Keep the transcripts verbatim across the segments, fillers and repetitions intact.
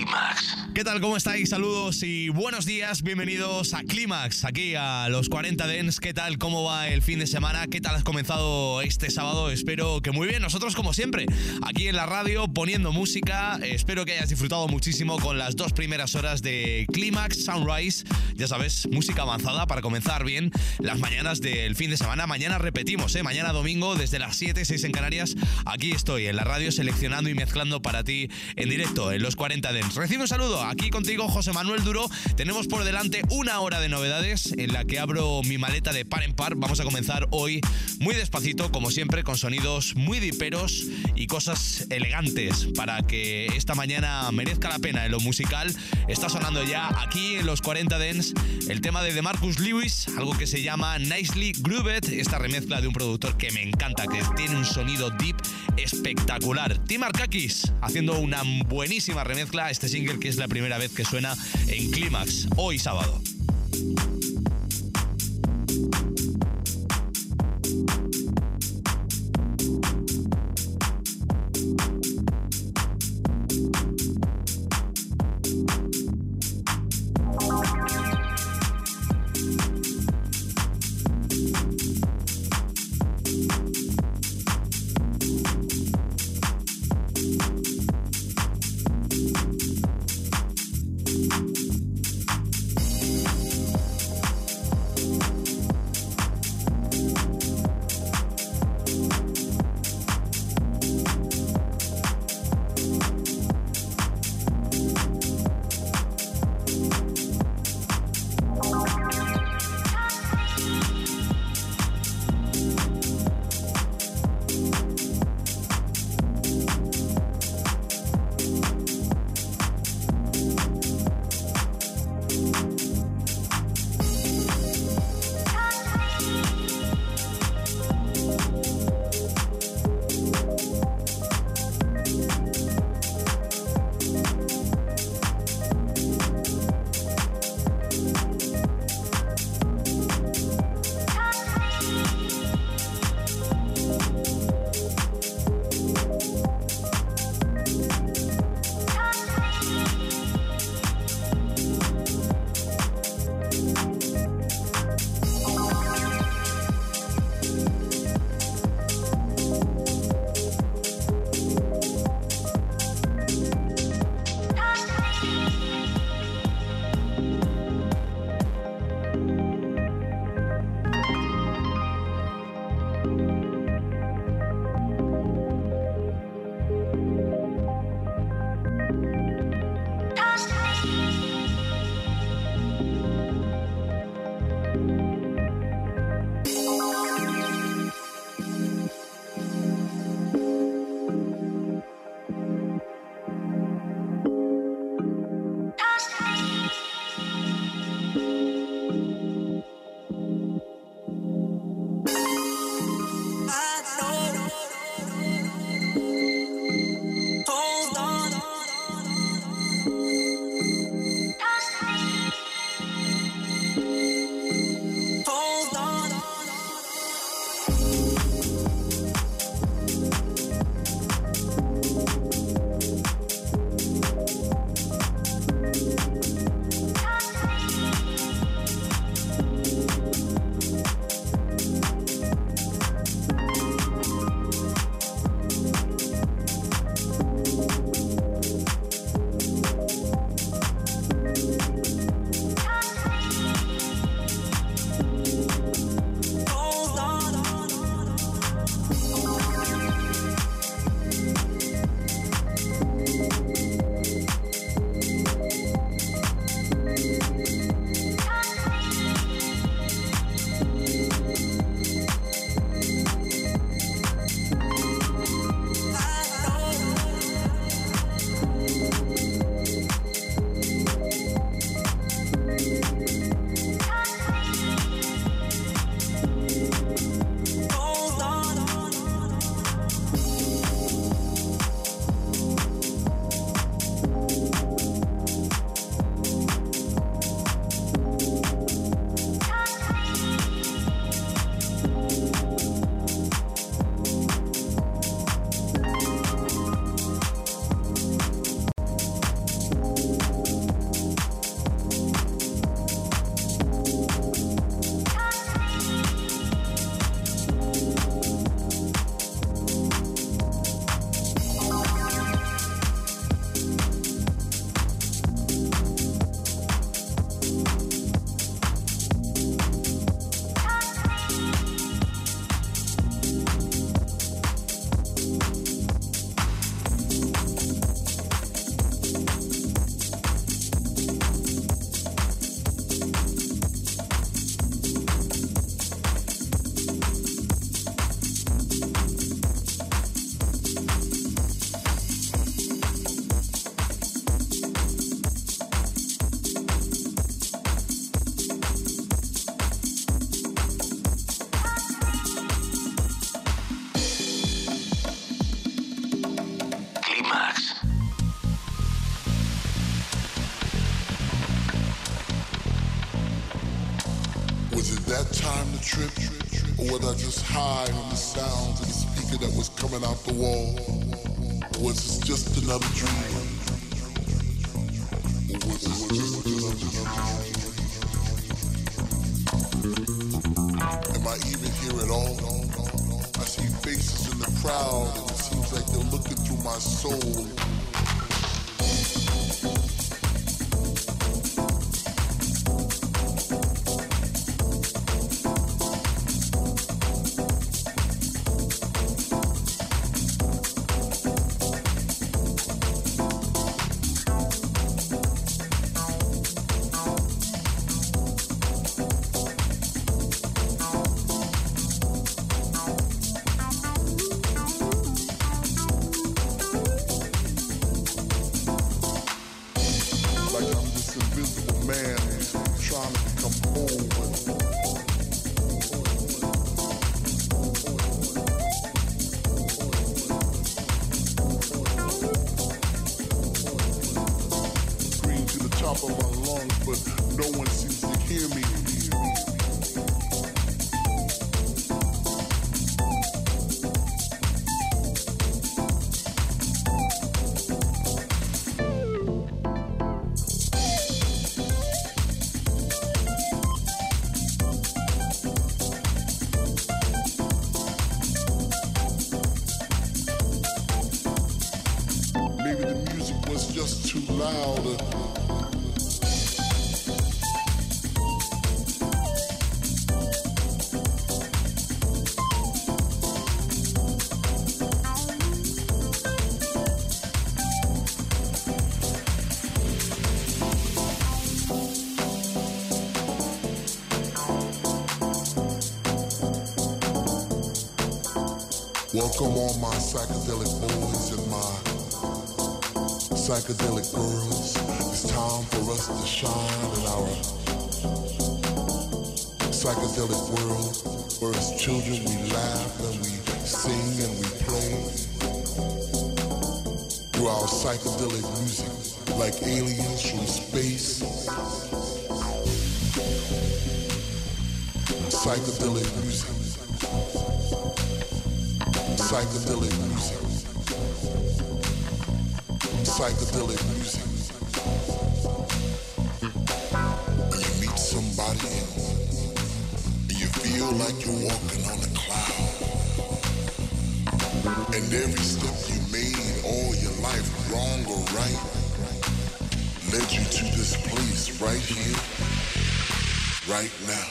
Clímax. ¿Qué tal? ¿Cómo estáis? Saludos y buenos días. Bienvenidos a Clímax, aquí a los cuarenta Dance. ¿Qué tal? ¿Cómo va el fin de semana? ¿Qué tal has comenzado este sábado? Espero que muy bien. Nosotros, como siempre, aquí en la radio poniendo música. Espero que hayas disfrutado muchísimo con las dos primeras horas de Clímax Sunrise. Ya sabes, música avanzada para comenzar bien las mañanas del fin de semana. Mañana repetimos, ¿eh? Mañana domingo desde las siete, seis en Canarias. Aquí estoy en la radio seleccionando y mezclando para ti en directo en los cuarenta Dance. Recibe un saludo. Aquí contigo, José Manuel Duro. Tenemos por delante una hora de novedades en la que abro mi maleta de par en par. Vamos a comenzar hoy muy despacito, como siempre, con sonidos muy diperos y cosas elegantes para que esta mañana merezca la pena en lo musical. Está sonando ya aquí en los cuarenta Dance el tema de DeMarcus Lewis, algo que se llama Nicely Grooved, esta remezcla de un productor que me encanta, que tiene un sonido deep espectacular. Tim Arkakis haciendo una buenísima remezcla a este single que es la primera vez que suena en Clímax hoy sábado. that time to trip? Or was I just high on the sounds of the speaker that was coming out the wall? Or was this just another dream? Or was this just another dream? Am I even here at all? I see faces in the crowd and it seems like they're looking through my soul. Welcome all my psychedelic boys and my psychedelic girls. It's time for us to shine in our psychedelic world, where as children we laugh and we sing and we play through our psychedelic music like aliens from space. Psychedelic music. Psychedelic music. Psychedelic music. When you meet somebody and you feel like you're walking on a cloud, and every step you made all your life, wrong or right, led you to this place right here, right now.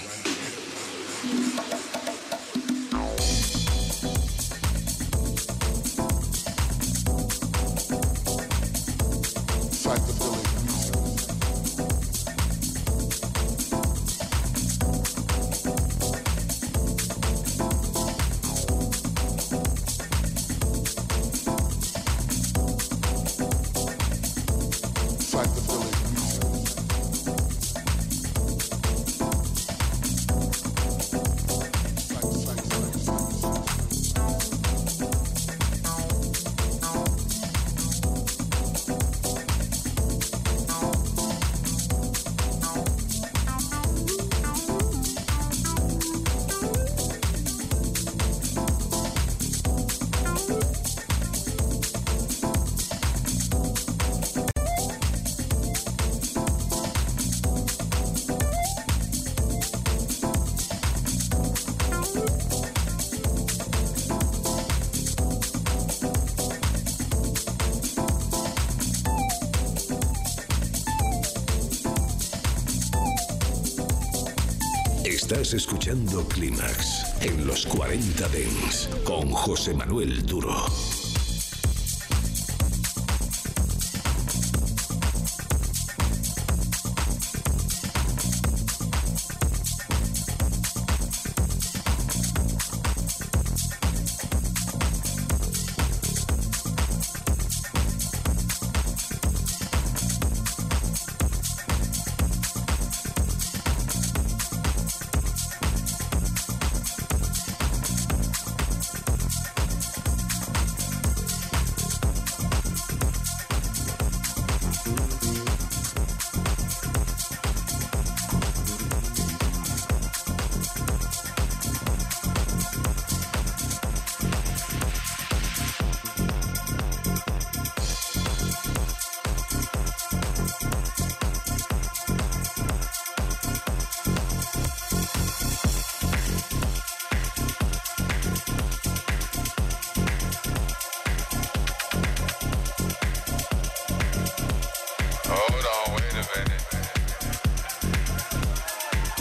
Estás escuchando Clímax en los cuarenta Dance con José Manuel Duro.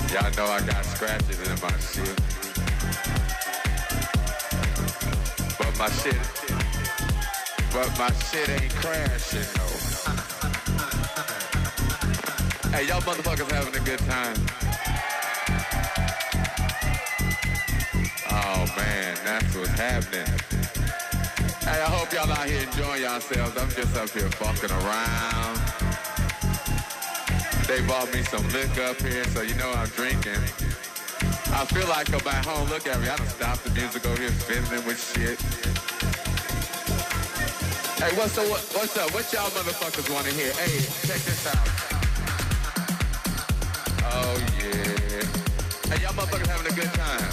Y'all know I got scratches in my shit. But my shit, but my shit ain't crashing, though. Hey, y'all motherfuckers having a good time? Oh, man, that's what's happening. Hey, I hope y'all out here enjoying yourselves. I'm just up here fucking around. They bought me some liquor up here, so you know I'm drinking. I feel like I'm at home. Look at me. I done stopped the music over here fiddling with shit. Hey, what's up? What's up? What y'all motherfuckers want to hear? Hey, check this out. Oh, yeah. Hey, y'all motherfuckers having a good time?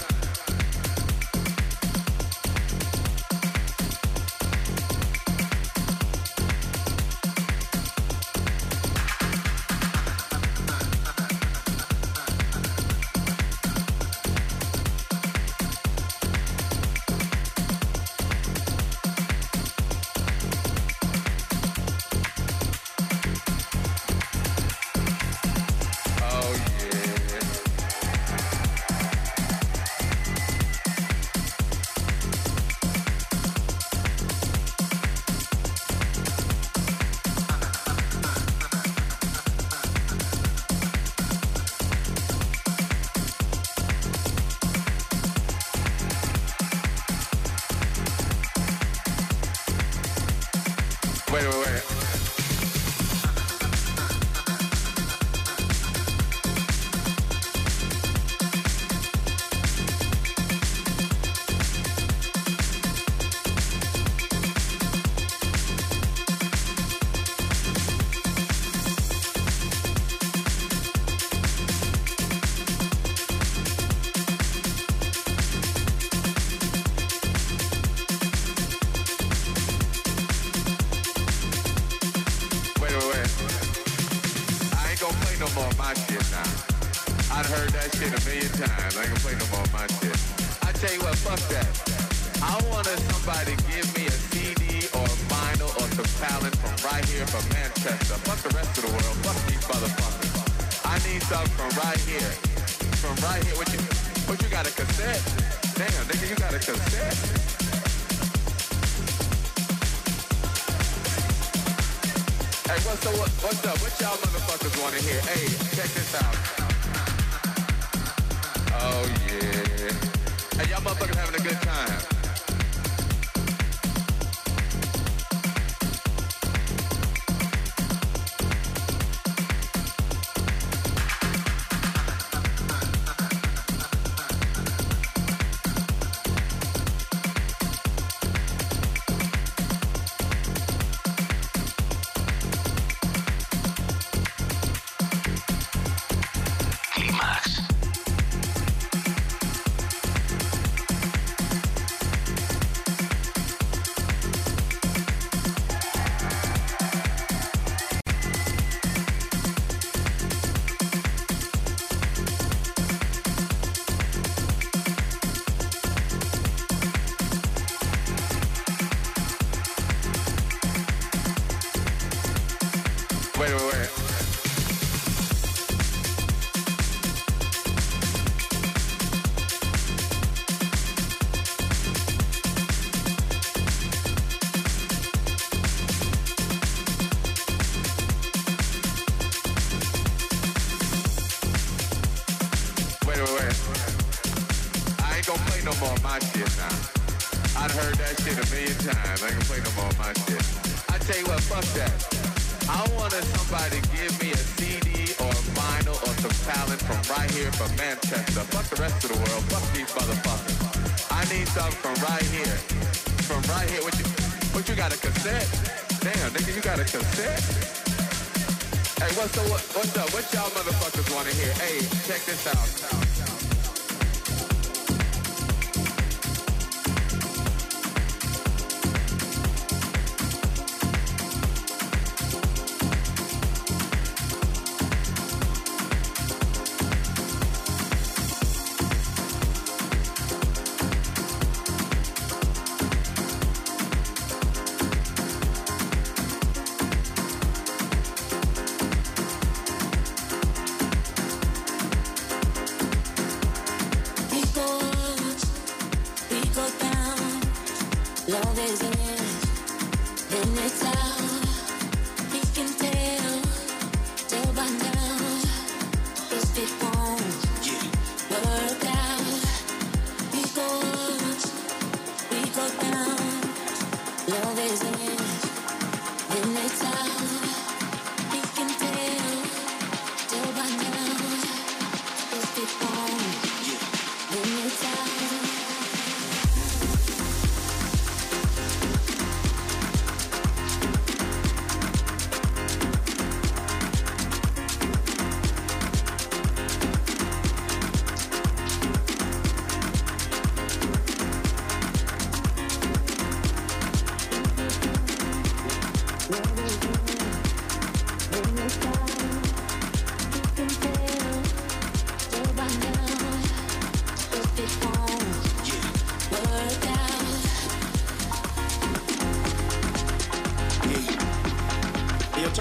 Wait, wait, wait.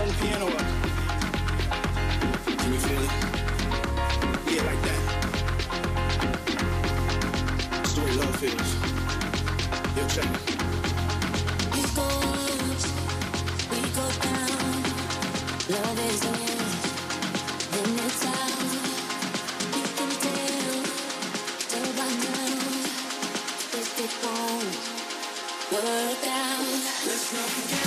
turn the piano up. Can you feel it? Yeah, like that. That's the way love feels. Yo, check it. We go up, we go down. Love is in, then it's out. You can tell, tell by now. If it won't work out, let's not forget.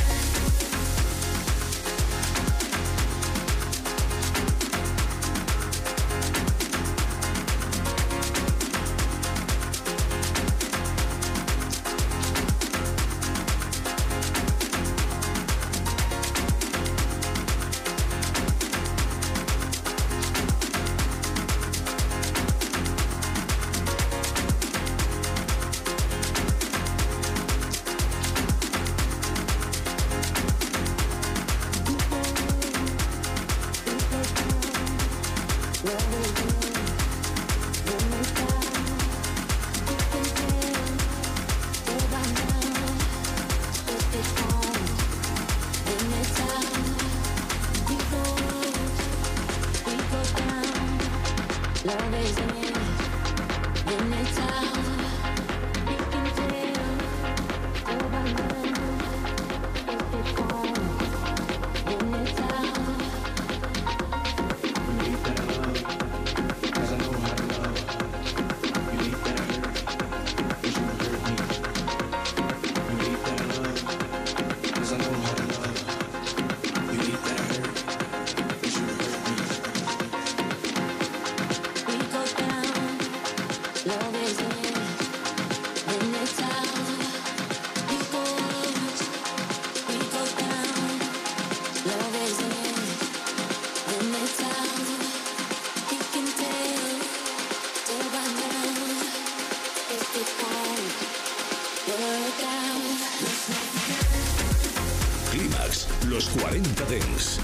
Clímax, los cuarenta Dance.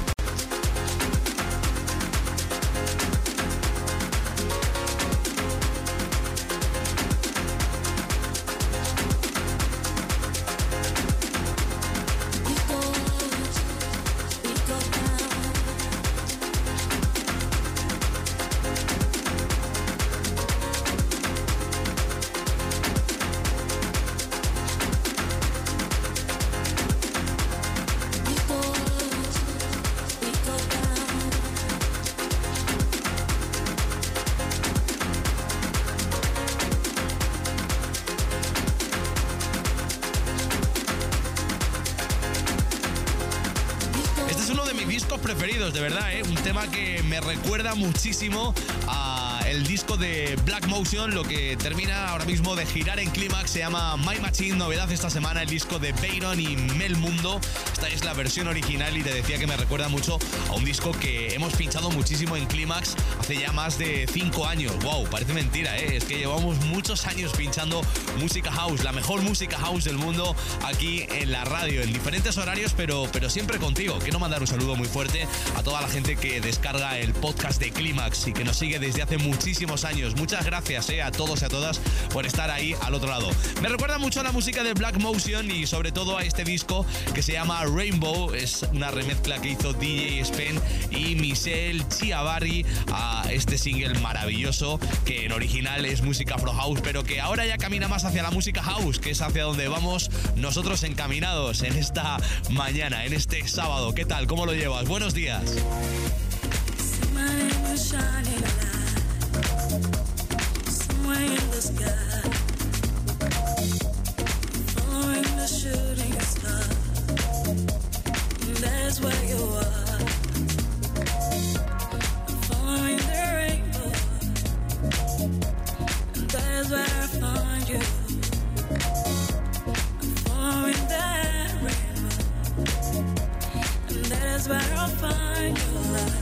Preferidos, de verdad, ¿eh? Un tema que me recuerda muchísimo a el disco de Black Motion, lo que termina ahora mismo de girar en Clímax. Se llama My Machine, novedad esta semana, el disco de Bayron y Mel Mundo. Esta es la versión original y te decía que me recuerda mucho a un disco que hemos pinchado muchísimo en Clímax hace ya más de cinco años. Wow, parece mentira, ¿eh? Es que llevamos muchos años pinchando música house, la mejor música house del mundo aquí en la radio, en diferentes horarios, pero, pero siempre contigo. Quiero mandar un saludo muy fuerte a toda la gente que descarga el podcast de Clímax y que nos sigue desde hace muchísimos años. Muchas gracias eh, a todos y a todas por estar ahí al otro lado. Me recuerda mucho a la música de Black Motion y sobre todo a este disco que se llama Rainbow. Es una remezcla que hizo D J Spen y Michelle Chiavarri a este single maravilloso que en original es música afro house, pero que ahora ya camina más hacia la música house, que es hacia donde vamos nosotros encaminados en esta mañana, en este sábado. ¿Qué tal? ¿Cómo lo llevas? Buenos días. Where I'll find your love.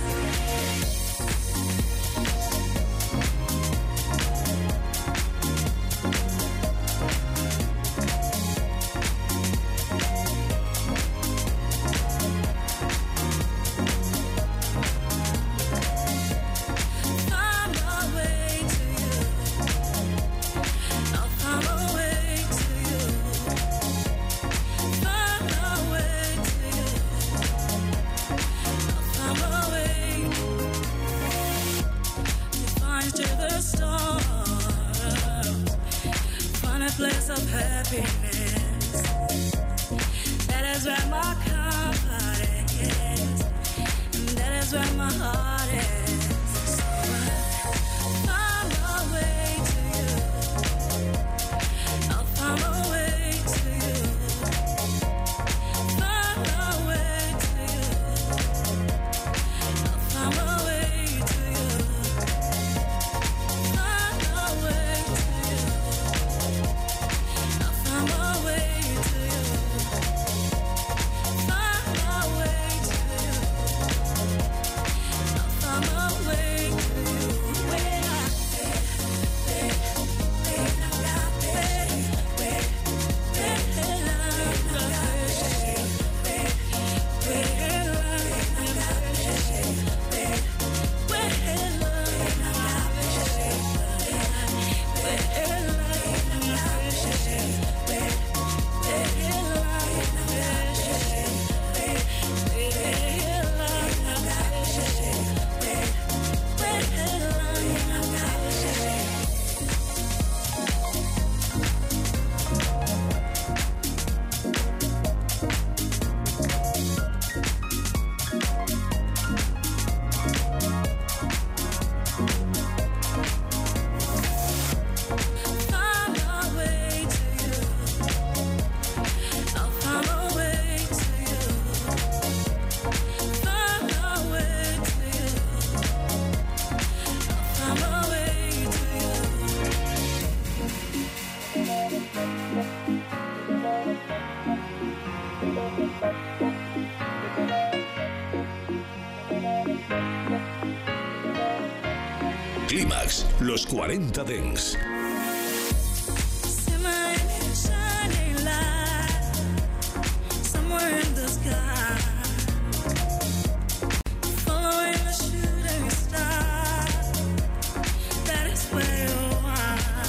of happiness. That is where my comfort is. And that is where my heart is. So I find my way to you. I'll find my way to you. Find my way to you. I'll find my way to you. Find my way to you. I'll find my way to you. Find my way to you. I'll find my way to you. When I wait, wait, I got wait, wait, wait, I got wait, wait, wait, I got wait, wait, wait, I got find my way to you. I'll find my way to you. Find my way to you. I'll find my way to you. Clímax, los cuarenta Dance. Shimmering, shining light somewhere in the sky, following the shooting star. That is where you are.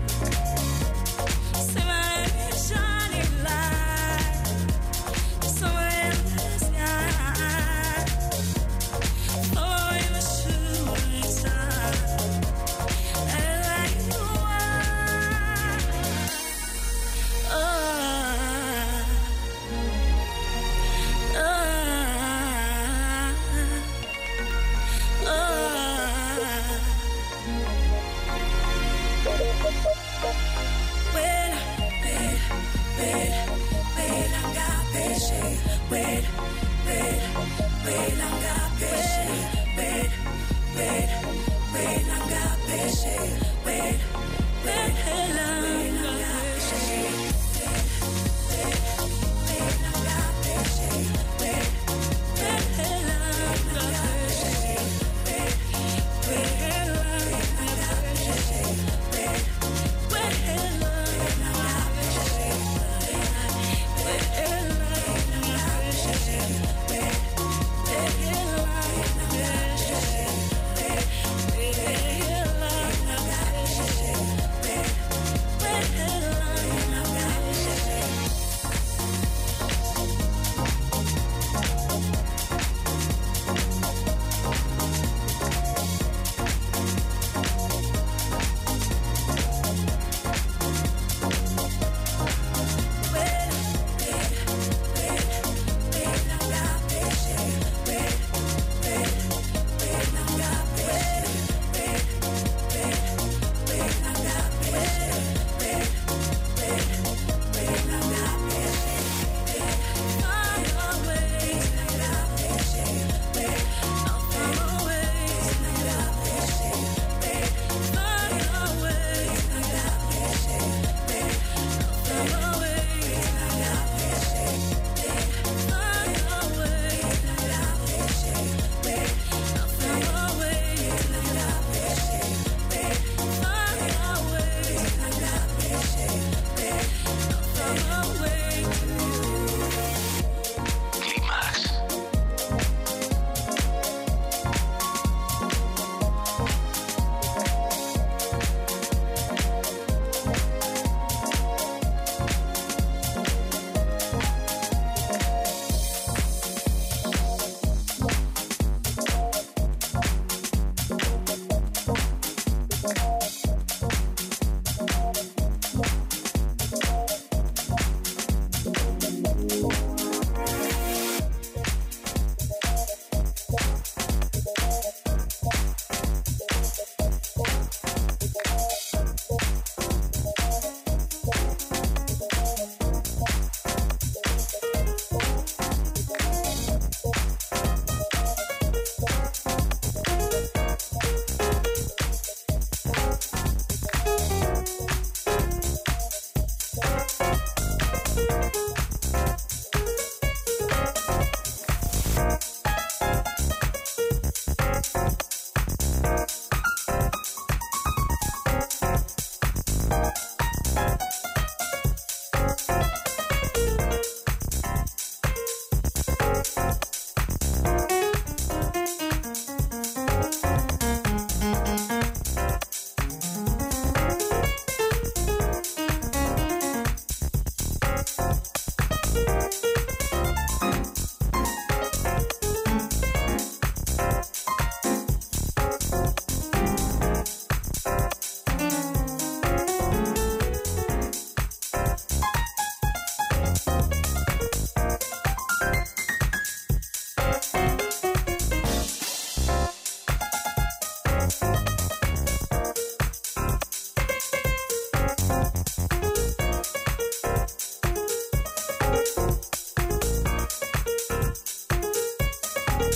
Shimmering, shining light somewhere in the sky, following the shooting star. That is where you are. Oh, oh, oh. Wait, wait, wait, wait, I got patience. Wait, wait, wait, I got patience. Wait, wait, wait, I got patience. Wait, wait, wait, I got patience. Wait,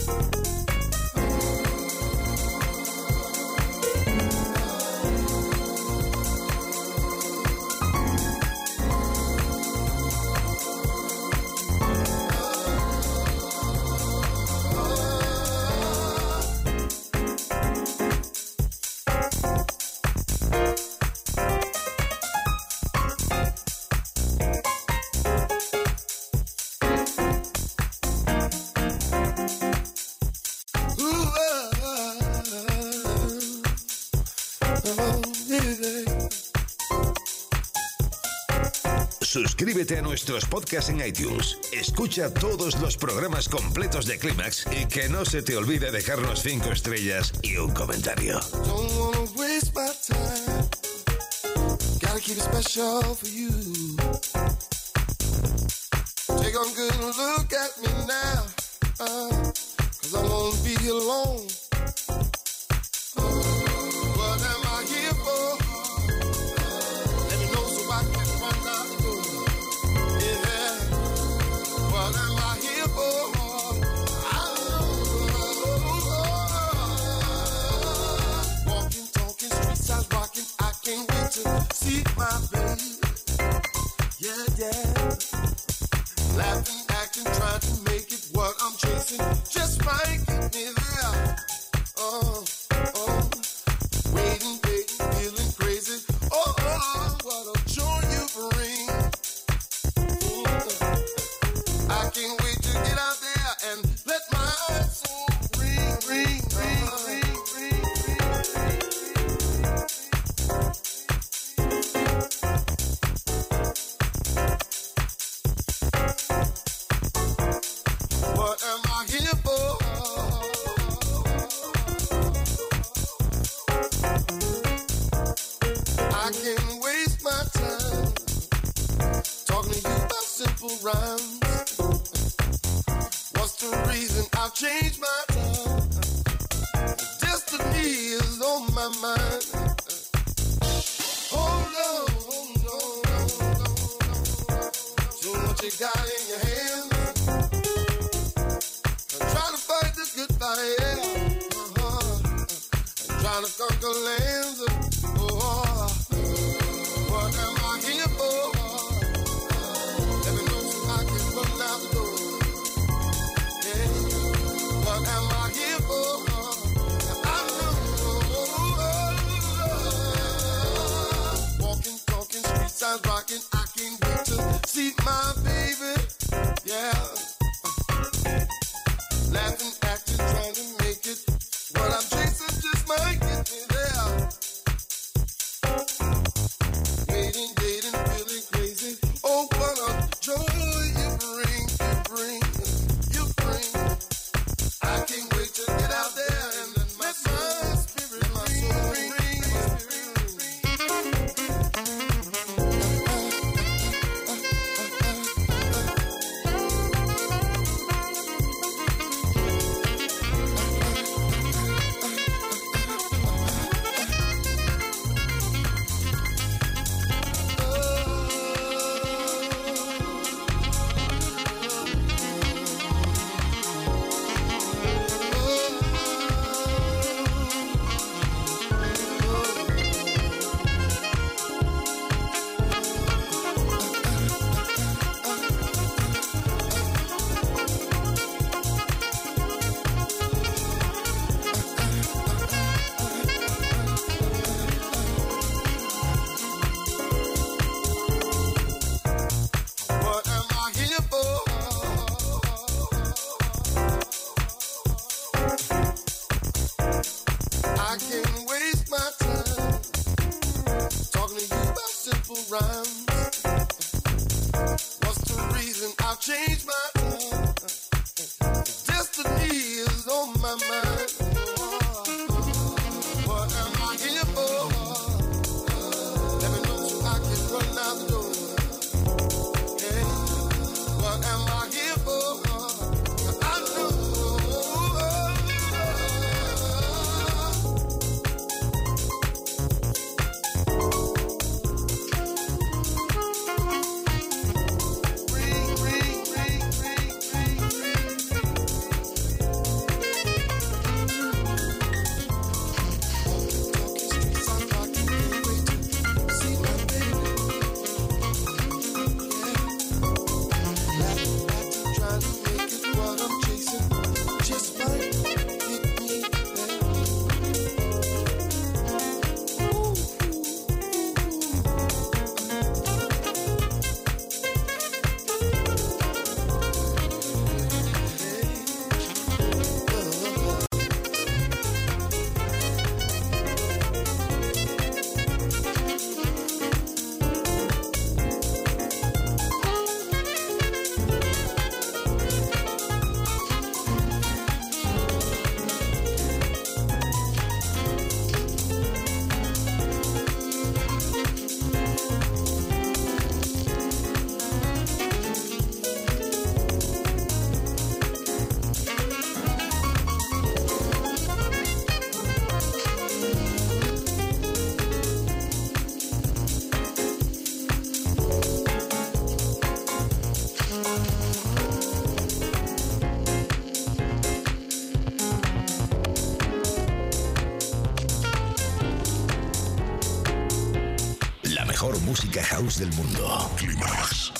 Suscríbete a nuestros podcasts en iTunes. Escucha todos los programas completos de Clímax y que no se te olvide dejarnos cinco estrellas y un comentario. Don't wanna waste my time. Gotta keep it special for you. Take a good look at me now, uh, cause I won't be alone. Uh, what am I here for? Uh, let me know so I can run out the door. Yeah. What am I here for? I don't know. Walking, talking, street sides rocking. I can't wait to see my baby. Yeah, yeah. Laughing, acting, trying to make it what I'm chasing. Just might get me there. Oh, oh. Waiting, waiting, feeling crazy. Oh, oh, what a joy you bring. Mm. I can't wait to get out there and let my soul ring, ring, ring, ring, ring, ring, What am I here for? I can't waste my time talking to you about simple rhymes. What's the reason I've changed my time? Destiny is on my mind. Oh no, oh no, no, no, no. So what you got in your hands? I'm trying to fight the good fight, yeah. Uh-huh. I'm trying to conquer lands. Oh, what am I here for? Let me know so I can run out the door. Yeah. What am I here for? I know. Walking, talking, street signs rocking. I can't wait to see my baby. Yeah. Laughing, acting, trying to make it. What I'm chasing just might get me there. Waiting, dating, feeling crazy. Oh, what a joy you bring, you bring, you bring. I can't wait to get out there and let my soul, spirit, my soul ring, ring, What am I here for? I can't waste my time talking to you about simple rhymes. What's the reason I've changed my time? Destiny is on my mind. What am I here for? Let me know so I can run out the door. What am I here for? I know. Ring, ring, ring. mejor música house del mundo. Climax.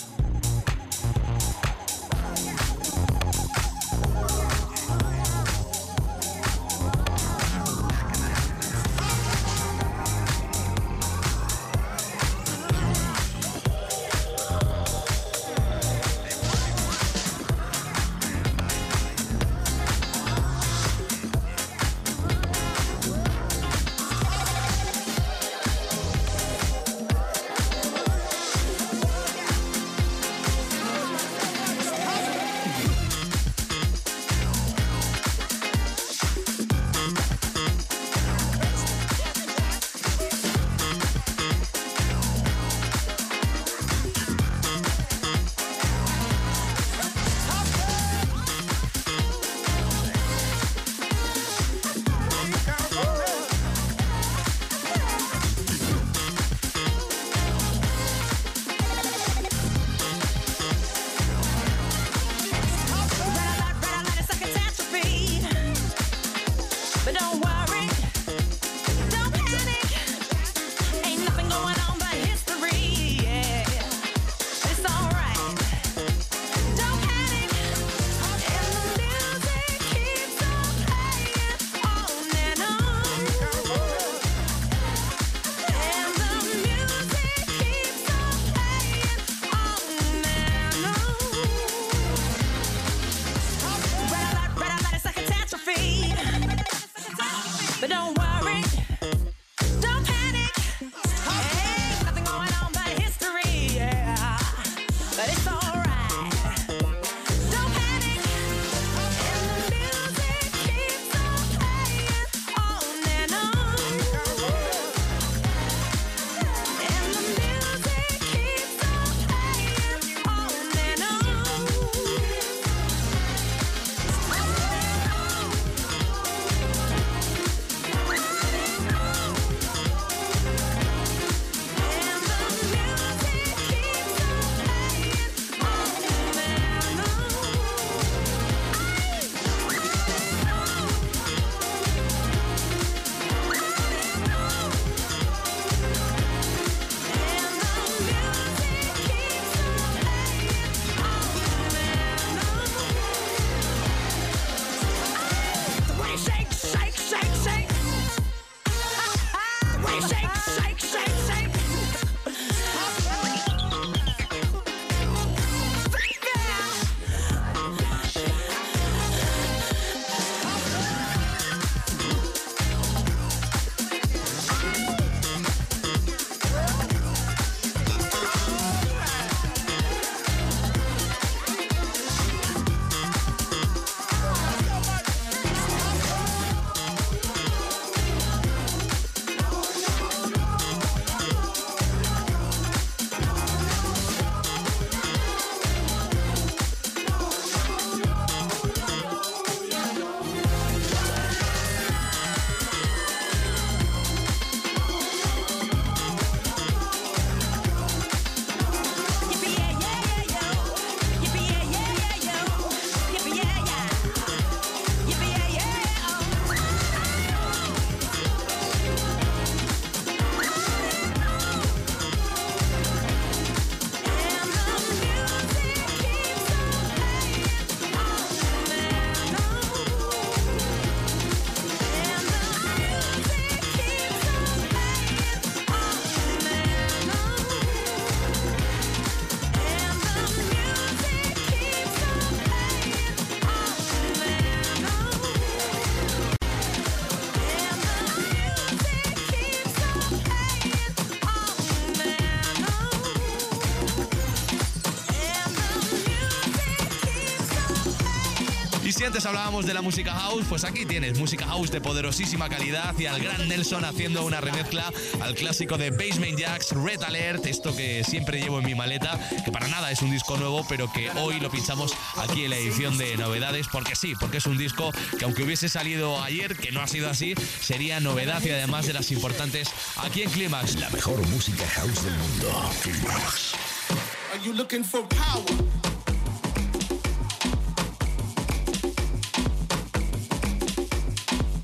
Si antes hablábamos de la música house, pues aquí tienes música house de poderosísima calidad y al gran Nelson haciendo una remezcla al clásico de Basement Jaxx, Red Alert, esto que siempre llevo en mi maleta, que para nada es un disco nuevo, pero que hoy lo pinchamos aquí en la edición de novedades, porque sí, porque es un disco que aunque hubiese salido ayer, que no ha sido así, sería novedad y además de las importantes aquí en Climax. La mejor música house del mundo. Climax. Are you looking for power?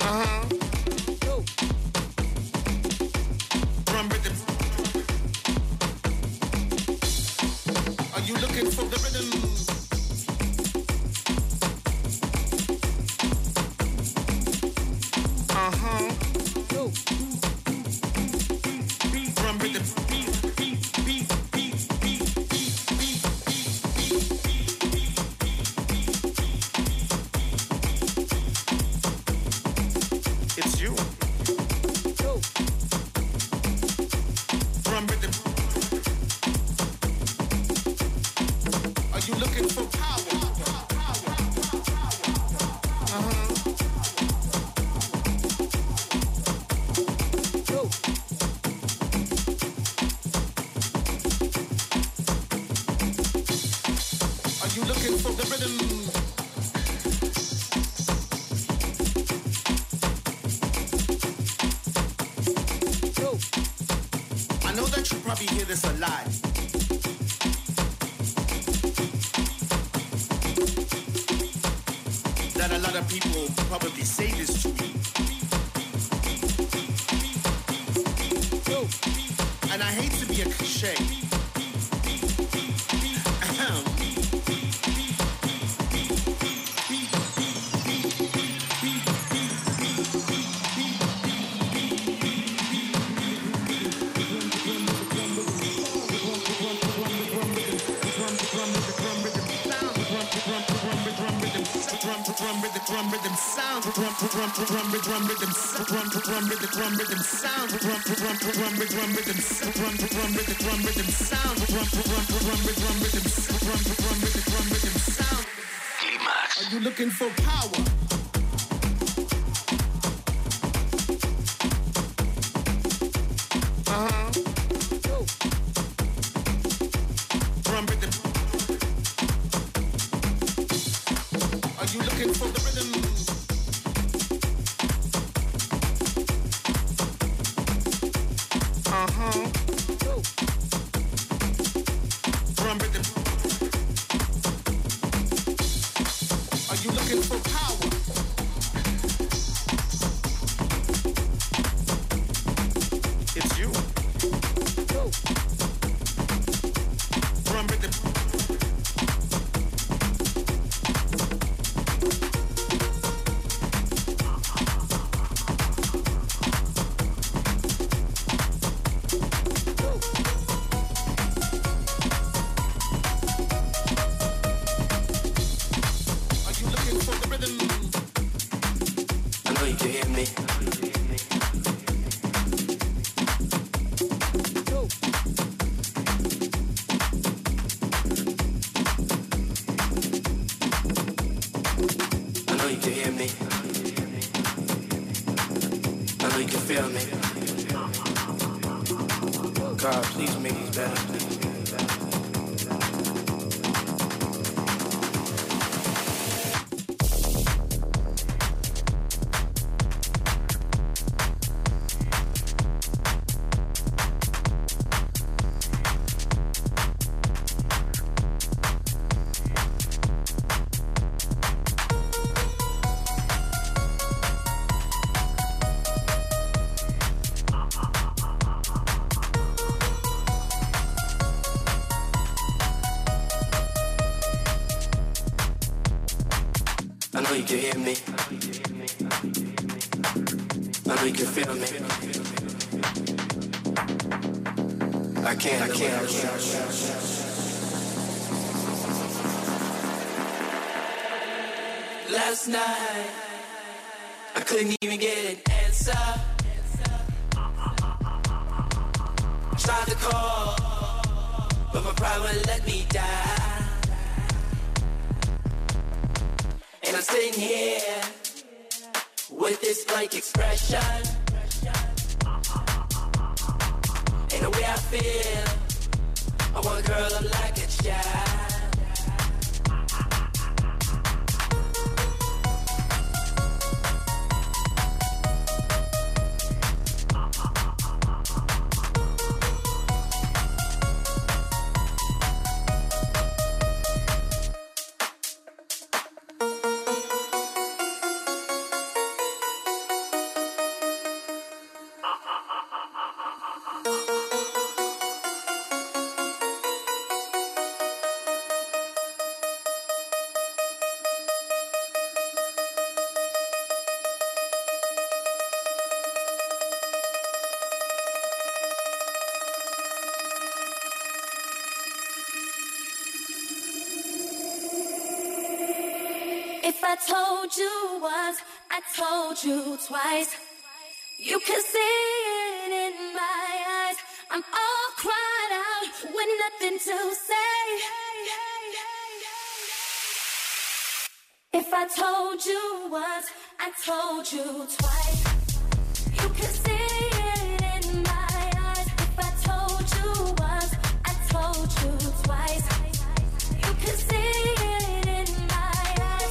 Uh-huh. Drum rhythm. Uh-huh. Drum rhythm. It's you. Drum rhythm. Are you looking for power? Uh-huh. Are you looking for the rhythm? I know that you probably hear this a lot. That a lot of people probably say this to me. And I hate to be a cliche. Ahem. Drum rhythm, drum rhythm sound, drum drum drum drum drum rhythm sound, drum drum rhythm drum rhythm sound, drum drum drum drum rhythm sound, drum drum rhythm drum rhythm sound, drum drum drum drum rhythm sound, drum drum rhythm drum rhythm sound. Climax. Are you looking for power? Uh-huh. Drum rhythm. Are you looking for the rhythm? Uh-huh. Drum rhythm. Are you looking for power? It's you. Drum rhythm. You can hear me. I know you can feel me. I can't, I can't, I can't. Last night, I couldn't even get an answer. Tried to call, but my pride wouldn't let me die. And I'm sitting here with this blank expression. And the way I feel, I want a girl up like a child. I told you once, I told you twice. You can see it in my eyes. I'm all cried out with nothing to say. If I told you once, I told you twice. You can see it in my eyes. If I told you once, I told you twice. You can see it in my eyes.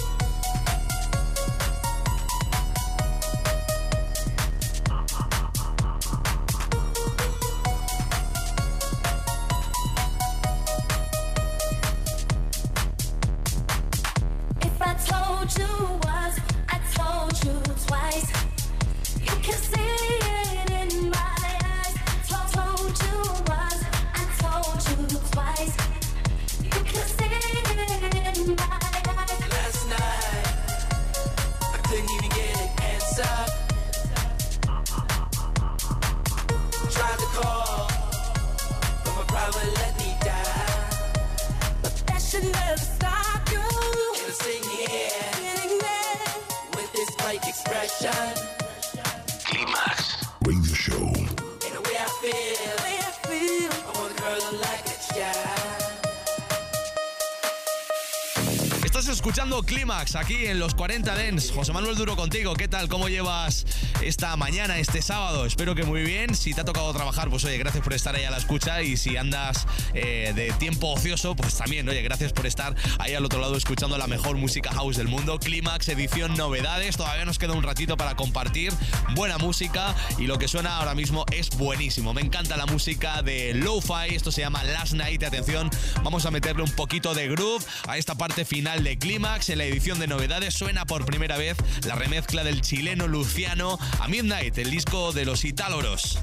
If I told you once, I told you twice. You can see it in my eyes. Told, told you once, I told you twice. You can see it in my eyes. Last night, I couldn't even get an answer. Tried to call, but my private let me die. But that should never stop you. And I'm sitting here Getting there. with this fake expression. Clímax. Radio Show. And the way I feel, Way I feel. I want a girl like a child. Estás escuchando Clímax aquí en los cuarenta Dance. José Manuel Duro contigo. ¿Qué tal? ¿Cómo llevas esta mañana, este sábado? Espero que muy bien. Si te ha tocado trabajar, pues oye, gracias por estar ahí a la escucha. Y si andas eh, de tiempo ocioso, pues también, oye, gracias por estar ahí al otro lado escuchando la mejor música house del mundo. Clímax, edición novedades. Todavía nos queda un ratito para compartir buena música y lo que suena ahora mismo es buenísimo. Me encanta la música de Lo-Fi. Esto se llama Last Night. Atención, vamos a meterle un poquito de groove a esta parte final de Clímax. En la edición de novedades suena por primera vez la remezcla del chileno Luciano a Midnight, el disco de los Itáloros.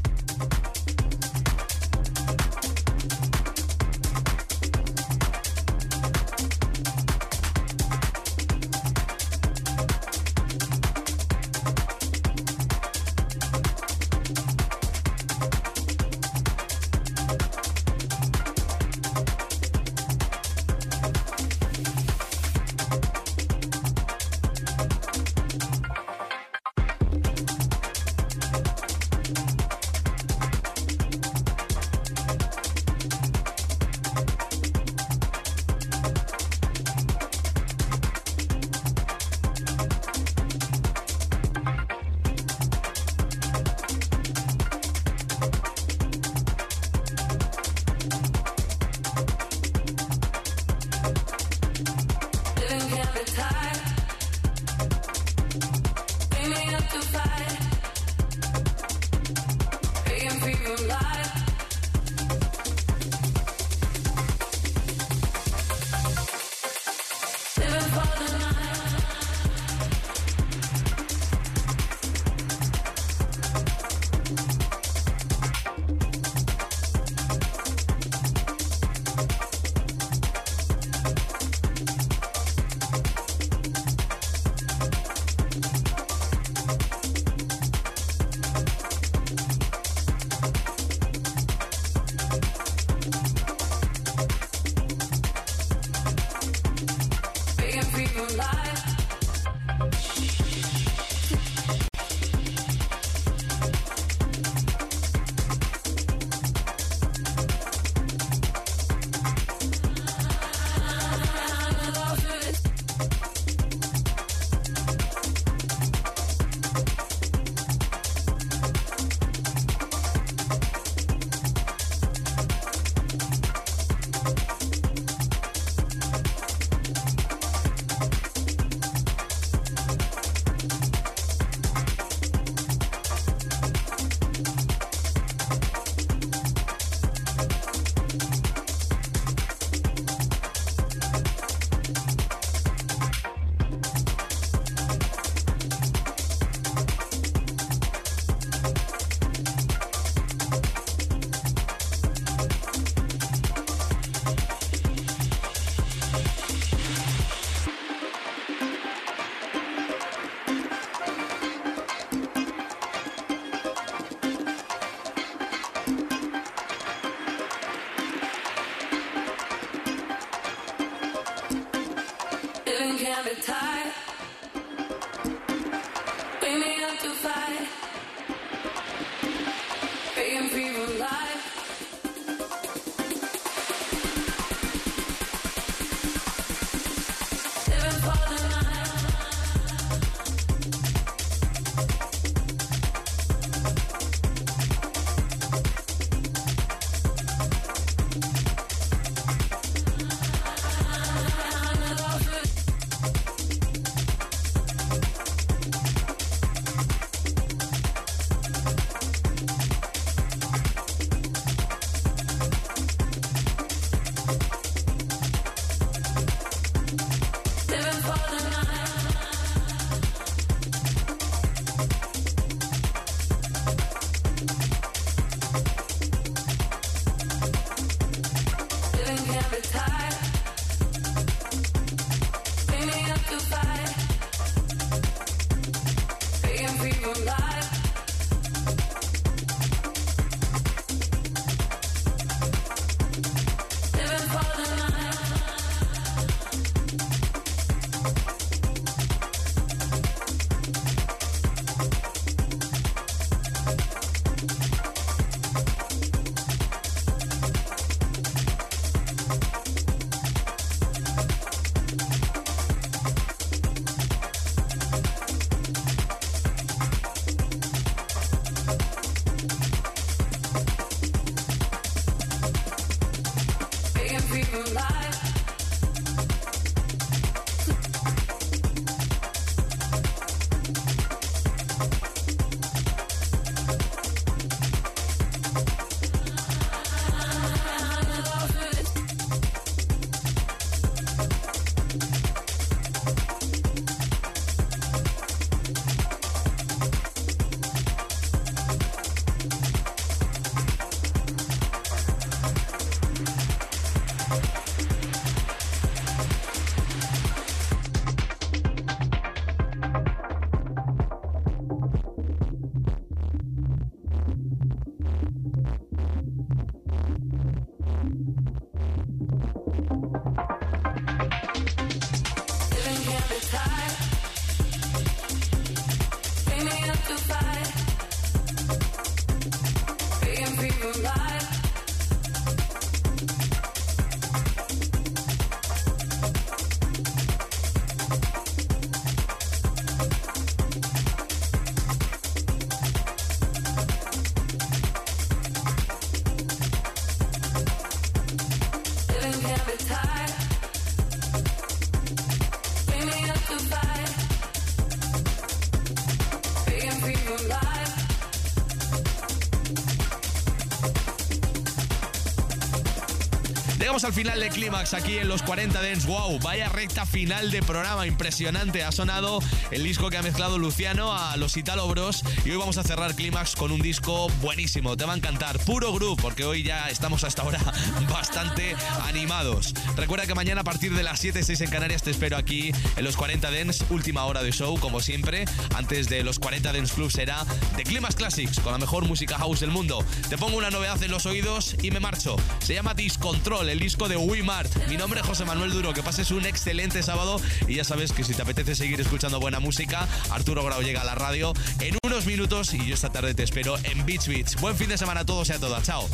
Llegamos al final de Clímax aquí en los cuarenta Dance. Wow, vaya recta final de programa impresionante. Ha sonado el disco que ha mezclado Luciano a los Italo Bros y hoy vamos a cerrar Clímax con un disco buenísimo. Te va a encantar, puro groove, porque hoy ya estamos hasta ahora bastante animados. Recuerda que mañana a partir de las siete, seis en Canarias te espero aquí en los cuarenta Dance, última hora de show, como siempre. Antes de los cuarenta Dance Club será The Clímax Classics, con la mejor música house del mundo. Te pongo una novedad en los oídos y me marcho. Se llama Discontrol, el disco de Wimart. Mi nombre es José Manuel Duro. Que pases un excelente sábado y ya sabes que si te apetece seguir escuchando buena música, Arturo Grau llega a la radio en unos minutos y yo esta tarde te espero en Beach Beach. Buen fin de semana a todos y a todas. Chao.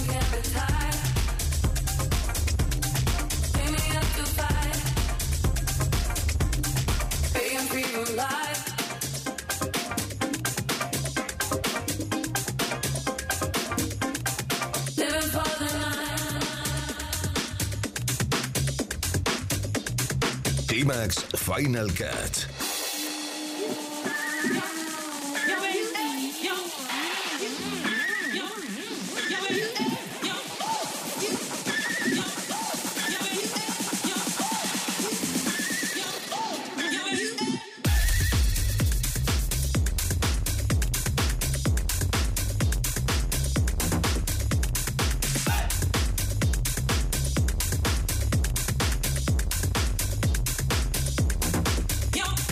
Clímax Final Cut. Yo.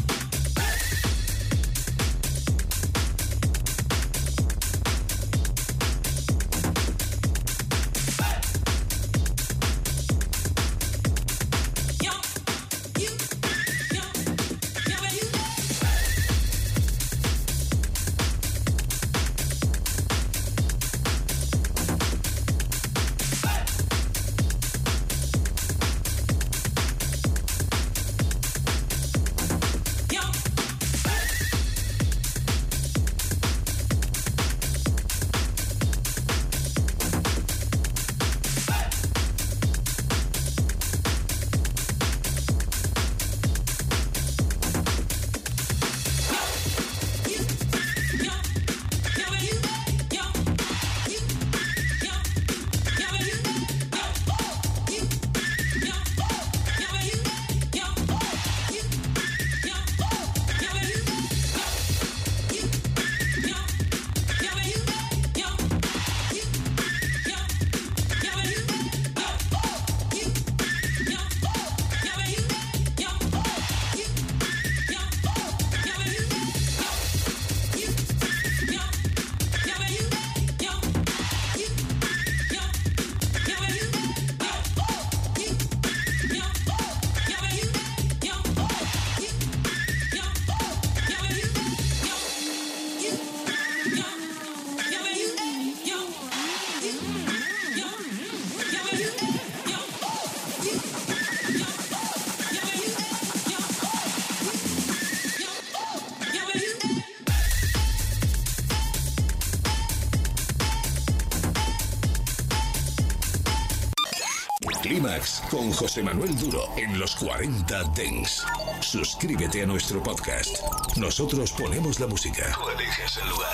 Clímax con José Manuel Duro en los cuarenta Dance. Suscríbete a nuestro podcast. Nosotros ponemos la música. Tú eliges el lugar.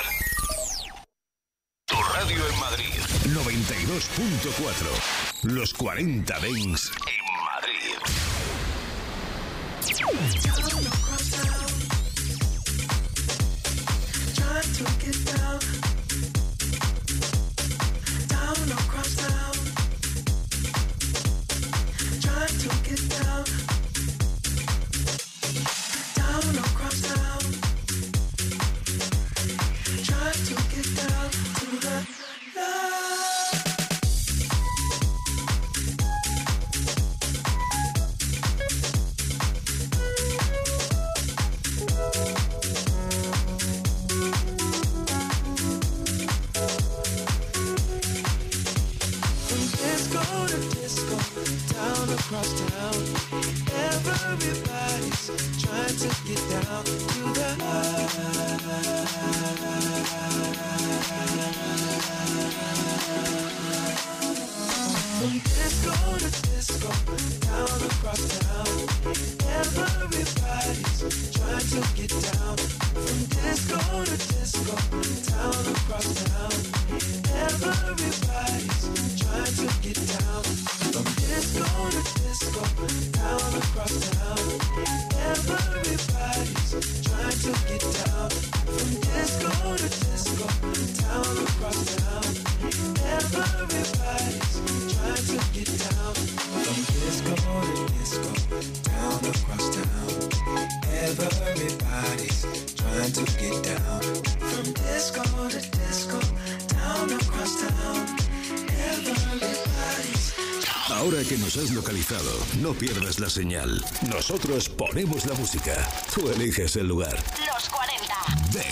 Tu radio en Madrid. noventa y dos punto cuatro. Los cuarenta Dance en Madrid. Ahora que nos has localizado, no pierdas la señal. Nosotros ponemos la música. Tú eliges el lugar. Los cuarenta. Dance.